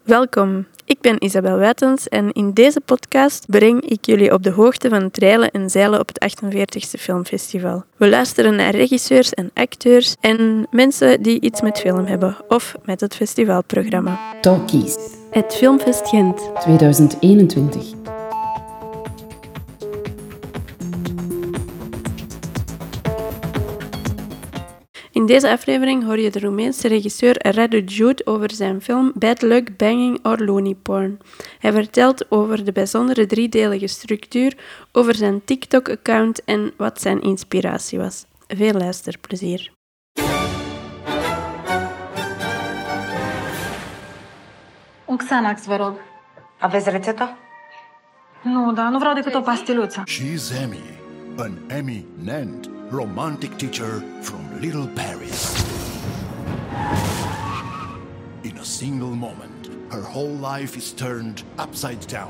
Welkom, ik ben Isabel Wijtens en in deze podcast breng ik jullie op de hoogte van het reilen en zeilen op het 48e Filmfestival. We luisteren naar regisseurs en acteurs en mensen die iets met film hebben of met het festivalprogramma. Talkies. Het Filmfest Gent 2021. In deze aflevering hoor je de Roemeense regisseur Radu Jude over zijn film Bad Luck, Banging or Loony Porn. Hij vertelt over de bijzondere driedelige structuur, over zijn TikTok-account en wat zijn inspiratie was. Veel luisterplezier. Xanax, vă rog. Aveți rețeta? Nu, dar nu vreau decât o pastiluță. She's Emmy, an eminent romantic teacher from Little Paris. In a single moment, her whole life is turned upside down.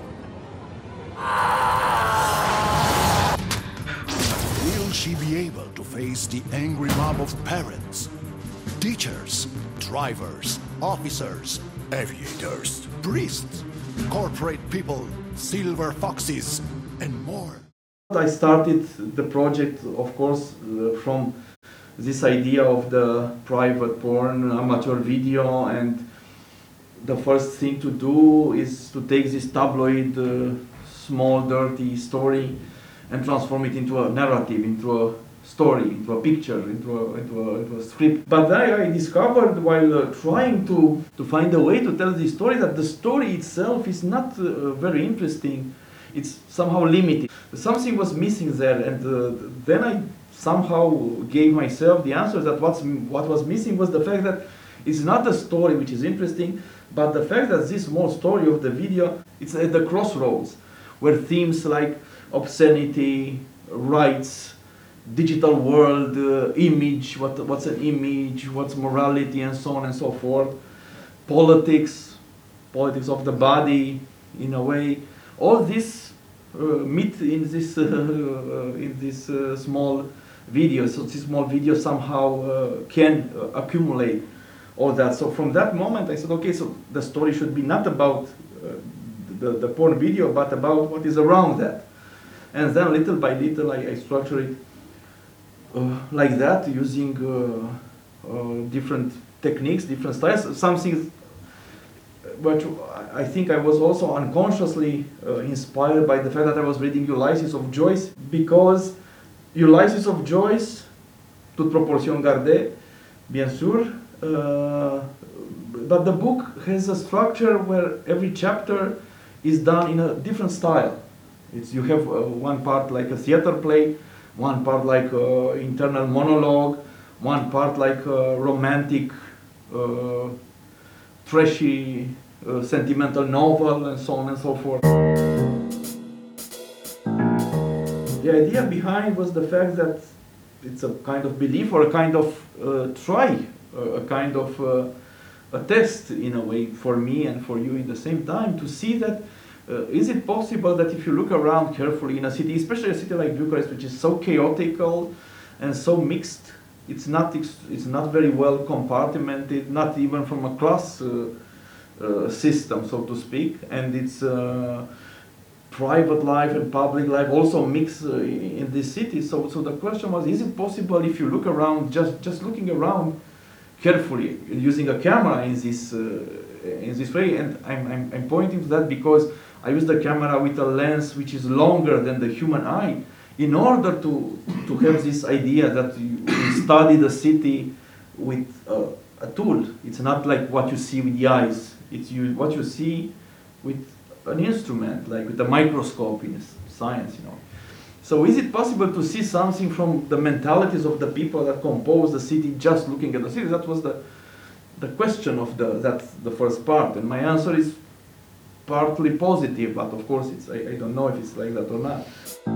Will she be able to face the angry mob of parents, teachers, drivers, officers, aviators, priests, corporate people, silver foxes, and more? I started the project, of course, from this idea of the private porn, amateur video, and the first thing to do is to take this tabloid, small, dirty story and transform it into a narrative, into a story, into a picture, into a script. But then I discovered while trying to find a way to tell this story that the story itself is not very interesting. It's somehow limited. Something was missing there, and then I somehow gave myself the answer that what was missing was the fact that it's not the story which is interesting, but the fact that this small story of the video, it's at the crossroads, where themes like obscenity, rights, digital world, image, what's an image, what's morality, and so on and so forth, politics of the body, in a way, all this meet in this small video. So this small video somehow can accumulate all that. So from that moment I said, okay, so the story should be not about the porn video, but about what is around that. And then little by little I structure it like that, using different techniques, different styles. Something but I think I was also unconsciously inspired by the fact that I was reading Ulysses of Joyce, because Ulysses of Joyce, toute proportion gardée, bien sûr, but the book has a structure where every chapter is done in a different style. You have one part like a theater play, one part like internal monologue, one part like a romantic, trashy, sentimental novel, and so on and so forth. The idea behind was the fact that it's a kind of belief or a kind of try, a kind of a test in a way for me and for you in the same time, to see that is it possible that if you look around carefully in a city, especially a city like Bucharest, which is so chaotic and so mixed, it's not very well compartmented, not even from a class system, so to speak, and it's private life and public life also mix in this city. So the question was, is it possible if you look around, just looking around carefully, using a camera in this way? And I'm pointing to that because I use the camera with a lens which is longer than the human eye, in order to have this idea that you study the city with a tool. It's not like what you see with the eyes. It's what you see with an instrument, like with a microscope in science, you know. So is it possible to see something from the mentalities of the people that compose the city just looking at the city? That was the question of that's the first part, and my answer is partly positive, but of course I don't know if it's like that or not.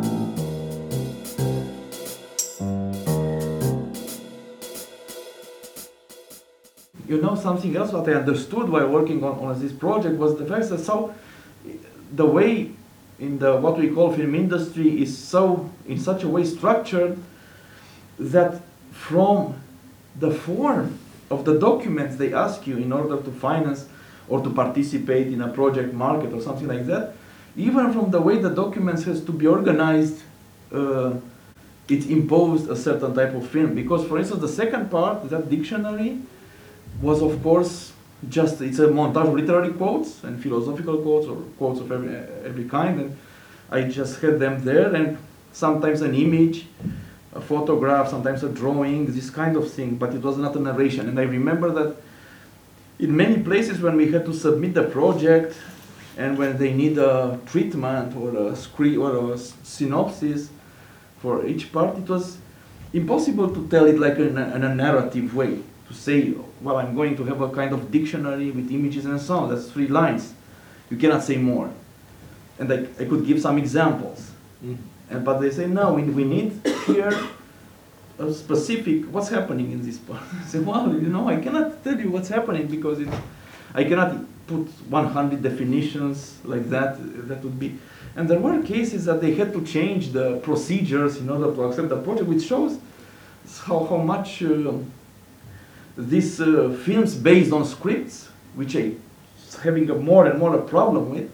You know, something else what I understood while working on this project was the fact that the way in the what we call film industry is so in such a way structured that from the form of the documents they ask you in order to finance or to participate in a project market or something like that, even from the way the documents has to be organized, it imposed a certain type of film. Because, for instance, the second part, that dictionary, was of course just, it's a montage of literary quotes and philosophical quotes or quotes of every kind, and I just had them there, and sometimes an image, a photograph, sometimes a drawing, this kind of thing, but it was not a narration. And I remember that in many places when we had to submit the project and when they need a treatment or a script or a synopsis for each part, it was impossible to tell it like in a narrative way, to say, well, I'm going to have a kind of dictionary with images and so on. That's 3 lines. You cannot say more. And I could give some examples. But they say, no, we need here a specific, what's happening in this part. I say, well, I cannot tell you what's happening because I cannot put 100 definitions like that. That would be, and there were cases that they had to change the procedures in order to accept the project, which shows how much these films based on scripts, which I having more and more a problem with,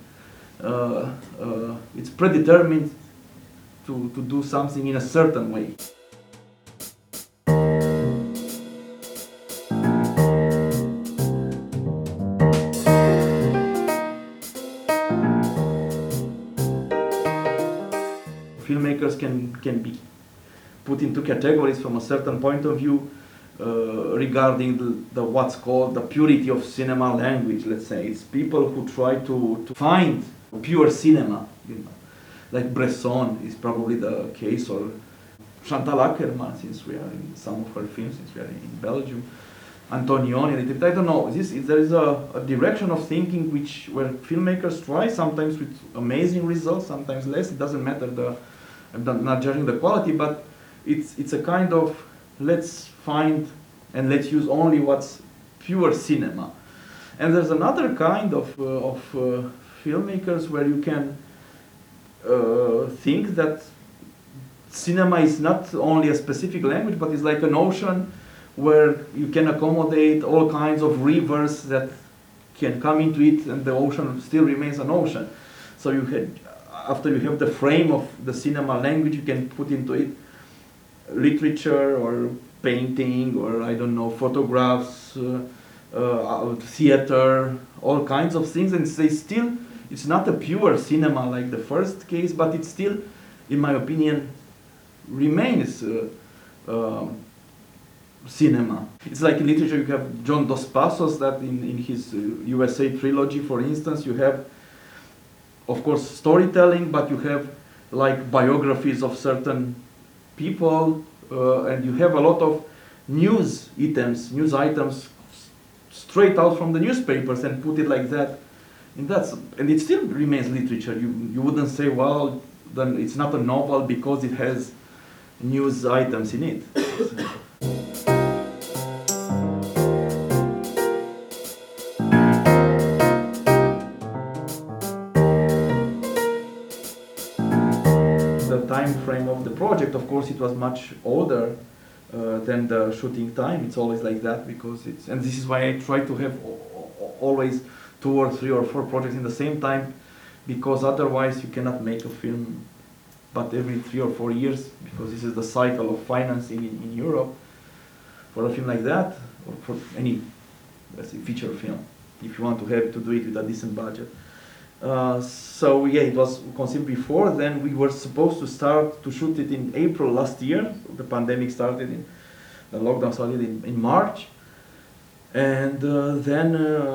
it's predetermined to do something in a certain way. Filmmakers can be put into categories from a certain point of view regarding the what's called the purity of cinema language, let's say. It's people who try to find pure cinema, like Bresson is probably the case, or Chantal Akerman, since we are in some of her films, since we are in Belgium, Antonioni, I don't know. There is a direction of thinking where filmmakers try, sometimes with amazing results, sometimes less. It doesn't matter. I'm not judging the quality, but it's a kind of let's find and let's use only what's pure cinema. And there's another kind of filmmakers where you can think that cinema is not only a specific language, but it's like an ocean where you can accommodate all kinds of rivers that can come into it, and the ocean still remains an ocean. So after you have the frame of the cinema language, you can put into it literature or painting or I don't know, photographs, theater, all kinds of things, and it's not a pure cinema like the first case, but it still, in my opinion, remains cinema. It's like in literature, you have John Dos Passos, that in his USA trilogy, for instance, you have, of course, storytelling, but you have like biographies of certain people, and you have a lot of news items straight out from the newspapers and put it like that. And it still remains literature. You wouldn't say, well, then it's not a novel because it has news items in it. The time frame of the project, of course, it was much older than the shooting time. It's always like that because and this is why I try to have always 2 or 3 or 4 projects in the same time, because otherwise you cannot make a film but every 3 or 4 years, because this is the cycle of financing in Europe for a film like that, or for any, let's say, feature film, if you want to do it with a decent budget. So yeah, it was conceived before. Then we were supposed to start to shoot it in April last year. The pandemic started the lockdown started in March, and then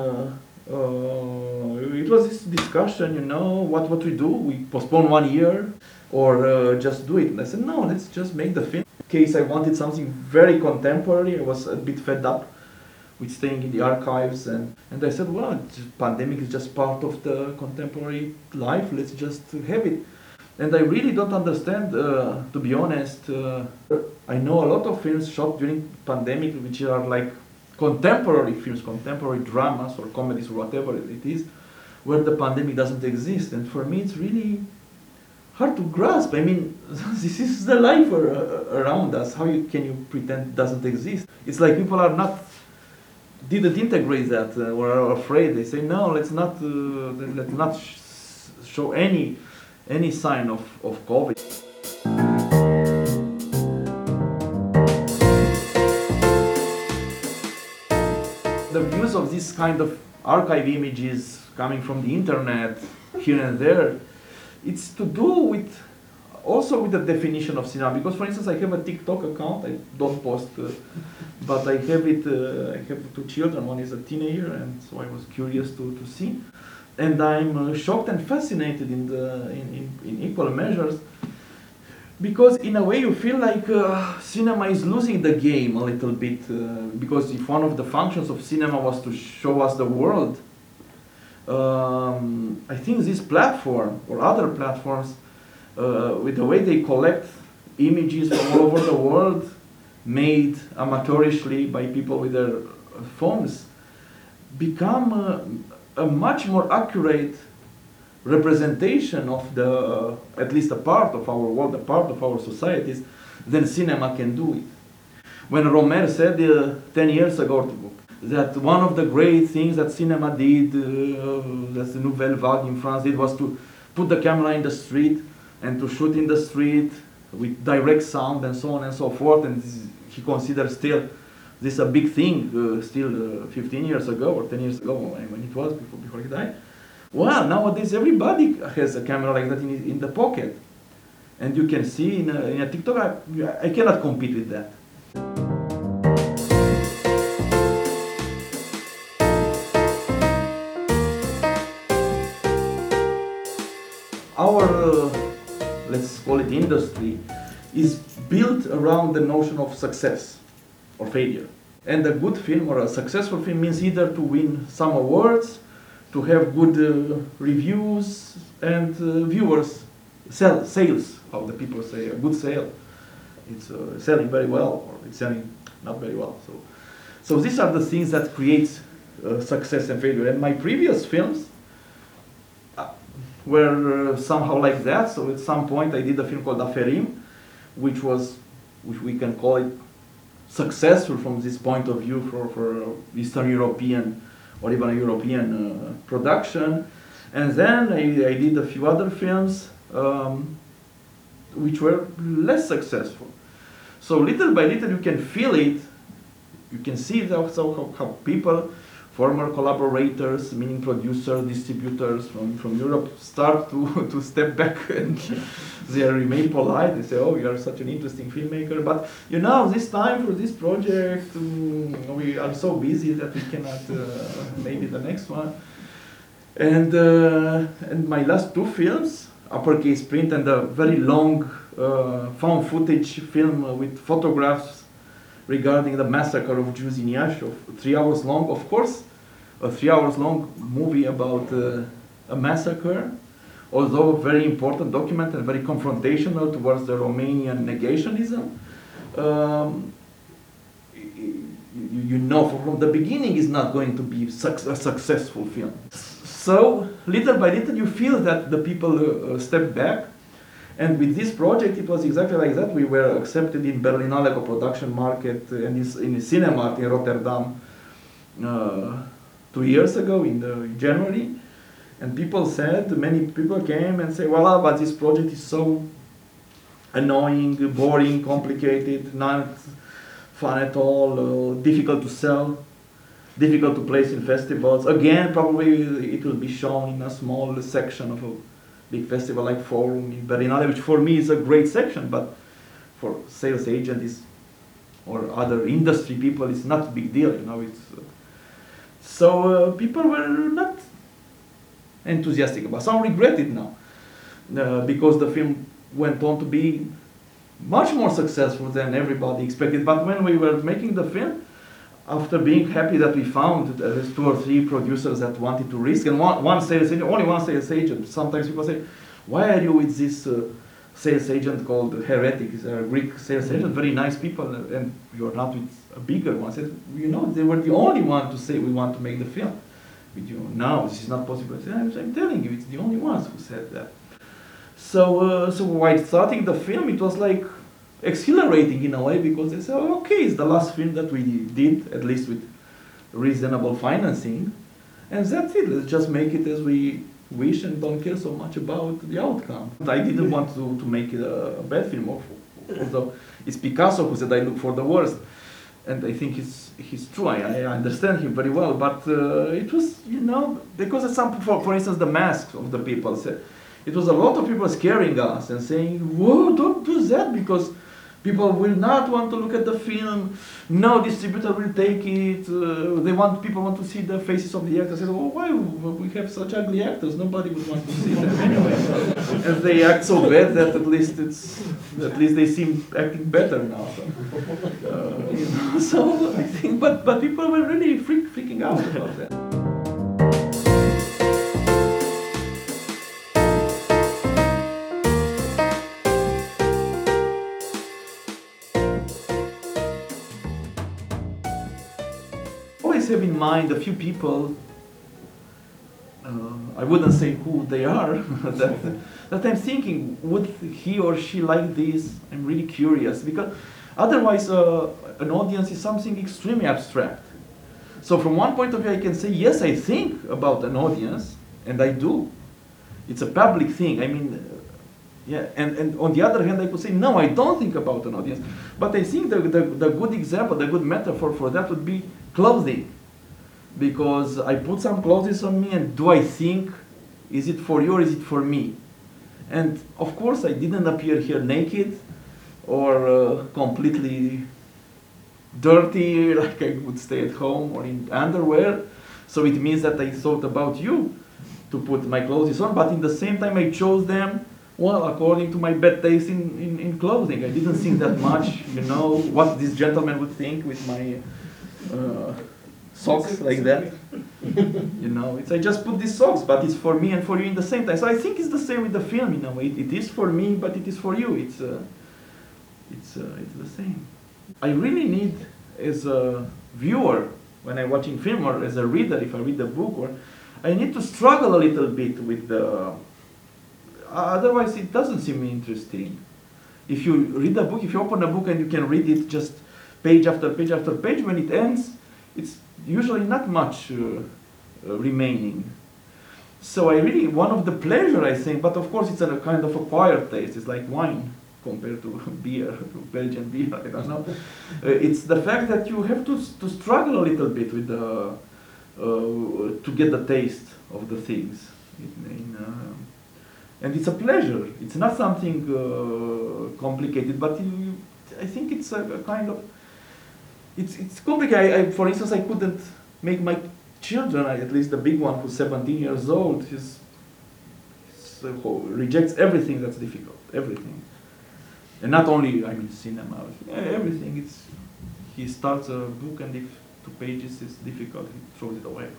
it was this discussion, what we do. We postpone 1 year or just do it. And I said, no, let's just make the film. In case I wanted something very contemporary, I was a bit fed up with staying in the archives, and I said, well, pandemic is just part of the contemporary life, let's just have it. And I really don't understand, to be honest. I know a lot of films shot during pandemic which are like contemporary films, contemporary dramas or comedies or whatever it is, where the pandemic doesn't exist. And for me it's really hard to grasp. I mean, this is the life around us. How can you pretend it doesn't exist? It's like people are not didn't integrate that, or are afraid. They say no, let's not show any sign of COVID. The use of this kind of archive images coming from the internet here and there, it's to do with also with the definition of cinema. Because, for instance, I have a TikTok account. I don't post, but I have it. I have two children. One is a teenager, and so I was curious to see. And I'm shocked and fascinated in equal measures, because in a way you feel like cinema is losing the game a little bit. Because if one of the functions of cinema was to show us the world, I think this platform or other platforms, with the way they collect images from all over the world, made amateurishly by people with their phones, become a much more accurate representation of the, at least a part of our world, a part of our societies, than cinema can do it. When Romer said 10 years ago that one of the great things that cinema did, that the Nouvelle Vague in France did, was to put the camera in the street and to shoot in the street with direct sound and so on and so forth, and he considers still this a big thing, still 15 years ago or 10 years ago when it was, before he died. Well, nowadays everybody has a camera like that in the pocket. And you can see in a TikTok, I cannot compete with that. Our, let's call it industry, is built around the notion of success or failure. And a good film or a successful film means either to win some awards, to have good reviews, and viewers, sales, how the people say, a good sale. It's selling very well, or it's selling not very well. So these are the things that create success and failure. And my previous films were somehow like that. So at some point I did a film called Aferim, which we can call it successful from this point of view for Eastern European or even a European production. And then I did a few other films which were less successful. So little by little you can feel it, you can see how people, former collaborators, meaning producers, distributors from Europe, start to step back, and they remain polite. They say, oh, you are such an interesting filmmaker, but you know, this time for this project, we are so busy that we cannot, maybe the next one. And my last two films, Uppercase Print and a very long found footage film with photographs regarding the massacre of Jews in Yashov, 3 hours long, of course, a 3 hours long movie about a massacre, although a very important document and very confrontational towards the Romanian negationism. You know from the beginning it's not going to be a successful film. So little by little you feel that the people step back. And with this project, it was exactly like that. We were accepted in Berlinale Co-Production Market and in Cinemarkt in Rotterdam 2 years ago in January. And people said, many people came and said, well, but this project is so annoying, boring, complicated, not fun at all, difficult to sell, difficult to place in festivals. Again, probably it will be shown in a small section of a big festival like Forum in Berlinale, which for me is a great section, but for sales agents or other industry people, it's not a big deal, you know. So people were not enthusiastic about it. Some regret it now, because the film went on to be much more successful than everybody expected. But when we were making the film, after being happy that we found 2 or 3 producers that wanted to risk, and one sales agent, only one sales agent. Sometimes people say, why are you with this sales agent called Heretic? He's a Greek sales agent, very nice people, and you're not with a bigger one. I said, you know, they were the only one to say we want to make the film. With you, no, this is not possible. I said, I'm telling you, it's the only ones who said that. So while starting the film, it was like exhilarating in a way, because they said, oh, okay, it's the last film that we did, at least with reasonable financing, and that's it. Let's just make it as we wish and don't care so much about the outcome. I didn't want to make it a bad film, although it's Picasso who said I look for the worst, and I think he's true. I understand him very well, but it was, because for instance, the masks of the people said, it was a lot of people scaring us and saying, "Whoa, don't do that because people will not want to look at the film. No distributor will take it. People want to see the faces of the actors." I said, "Oh, why? We have such ugly actors. Nobody would want to see them anyway." And they act so bad that at least they seem acting better now. So I think, but people were really freaking out about that. Always have in mind a few people, I wouldn't say who they are, that I'm thinking, would he or she like this? I'm really curious, because otherwise an audience is something extremely abstract. So from one point of view I can say, yes, I think about an audience, and I do. It's a public thing, and on the other hand I could say, no, I don't think about an audience. But I think the good example, the good metaphor for that would be clothing. Because I put some clothes on me, and do I think, is it for you or is it for me? And of course I didn't appear here naked or completely dirty, like I would stay at home or in underwear. So it means that I thought about you to put my clothes on, but in the same time I chose them, well, according to my bad taste in clothing. I didn't think that much, what this gentleman would think with my socks like that. I just put these socks, but it's for me and for you in the same time. So I think it's the same with the film, It is for me, but it is for you. It's the same. I really need, as a viewer, when I'm watching film, or as a reader, if I read the book, I need to struggle a little bit with the. Otherwise, it doesn't seem interesting. If you read a book, if you open a book and you can read it just page after page after page, when it ends, it's usually not much remaining. So one of the pleasure, I think, but of course it's a kind of acquired taste. It's like wine compared to beer, Belgian beer, I don't know. It's the fact that you have to struggle a little bit with to get the taste of the things. And it's a pleasure. It's not something complicated, but I think it's a kind of. It's complicated. For instance, I couldn't make my children, at least the big one who's 17 years old, rejects everything that's difficult, everything. And not only, cinema, everything. He starts a book, and if 2 pages is difficult, he throws it away.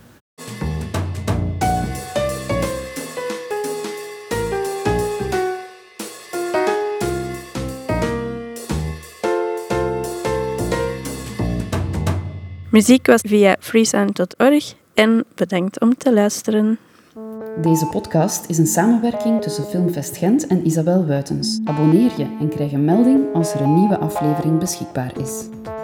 Muziek was via freesound.org en bedankt om te luisteren. Deze podcast is een samenwerking tussen Filmfest Gent en Isabel Wuitens. Abonneer je en krijg een melding als er een nieuwe aflevering beschikbaar is.